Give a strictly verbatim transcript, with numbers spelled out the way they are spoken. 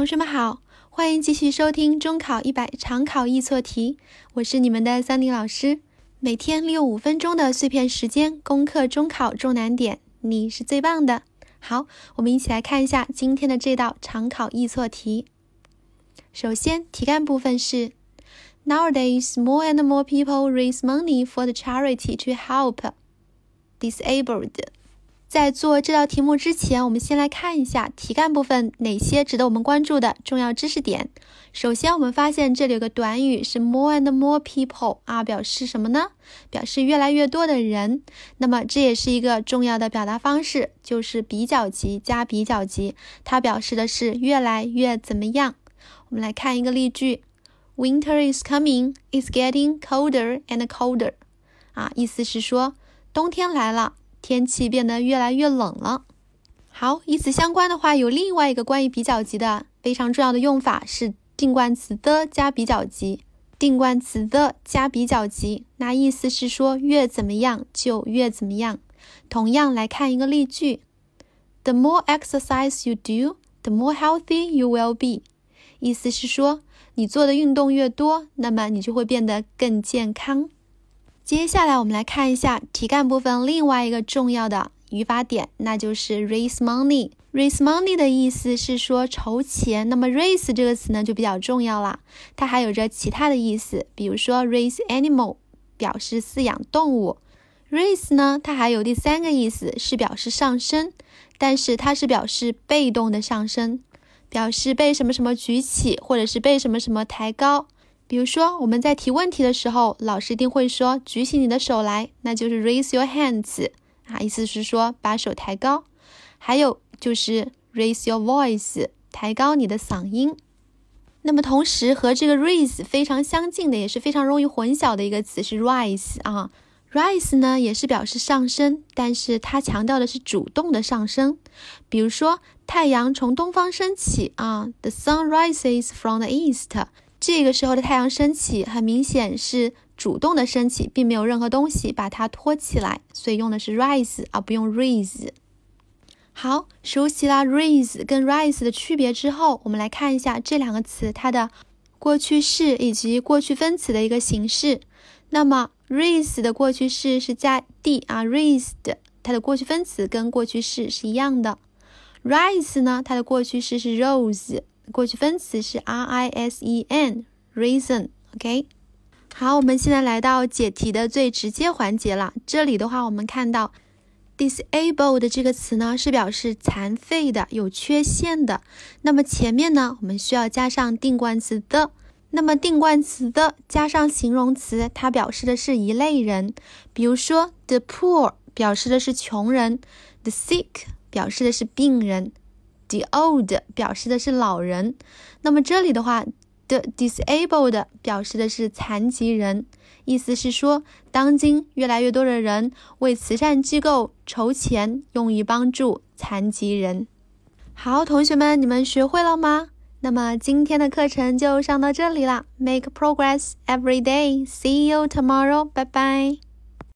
同学们好，欢迎继续收听中考一百常考易错题，我是你们的桑尼老师。每天利用五分钟的碎片时间攻克中考重难点，你是最棒的。好，我们一起来看一下今天的这道常考易错题。首先，题干部分是 Nowadays, more and more people raise money for the charity to help disabled. 在做这道题目之前，我们先来看一下题干部分哪些值得我们关注的重要知识点。首先，我们发现这里有个短语是 more and more people 啊，表示什么呢？表示越来越多的人。那么这也是一个重要的表达方式，就是比较级加比较级，它表示的是越来越怎么样。我们来看一个例句 Winter is coming, it's getting colder and colder. 啊，意思是说冬天来了，天气变得越来越冷了。好，与此相关的话，有另外一个关于比较级的非常重要的用法是定冠词的加比较级。定冠词的加比较级，那意思是说越怎么样就越怎么样。同样来看一个例句 The more exercise you do, the more healthy you will be. 意思是说你做的运动越多，那么你就会变得更健康。接下来我们来看一下题干部分另外一个重要的语法点，那就是 raise money。 raise money 的意思是说筹钱，那么 raise 这个词呢就比较重要了，它还有着其他的意思，比如说 raise animal 表示饲养动物。 raise 呢它还有第三个意思是表示上升，但是它是表示被动的上升，表示被什么什么举起，或者是被什么什么抬高。比如说我们在提问题的时候，老师一定会说举起你的手来，那就是 raise your hands 啊，意思是说把手抬高。还有就是 raise your voice 抬高你的嗓音。那么同时和这个 raise 非常相近的，也是非常容易混淆的一个词是 rise 啊。rise 呢也是表示上升，但是它强调的是主动的上升。比如说太阳从东方升起啊 The sun rises from the east，这个时候的太阳升起很明显是主动的升起，并没有任何东西把它托起来，所以用的是 rise 而不用 raise。 好，熟悉了 raise 跟 rise 的区别之后，我们来看一下这两个词它的过去式以及过去分词的一个形式。那么 raise 的过去式是加 d 啊 raised， 它的过去分词跟过去式是一样的。 rise 呢它的过去式是 rose，过去分词是 R I S E N reason OK。 好，我们现在来到解题的最直接环节了。这里的话我们看到 disabled 这个词呢是表示残废的，有缺陷的。那么前面呢我们需要加上定冠词的，那么定冠词的加上形容词，它表示的是一类人。比如说 the poor 表示的是穷人， the sick 表示的是病人，The old 表示的是老人。那么这里的话 The disabled 表示的是残疾人，意思是说当今越来越多的人为慈善机构筹钱，用于帮助残疾人。好，同学们，你们学会了吗？那么今天的课程就上到这里了。 Make progress every day. See you tomorrow. Bye bye.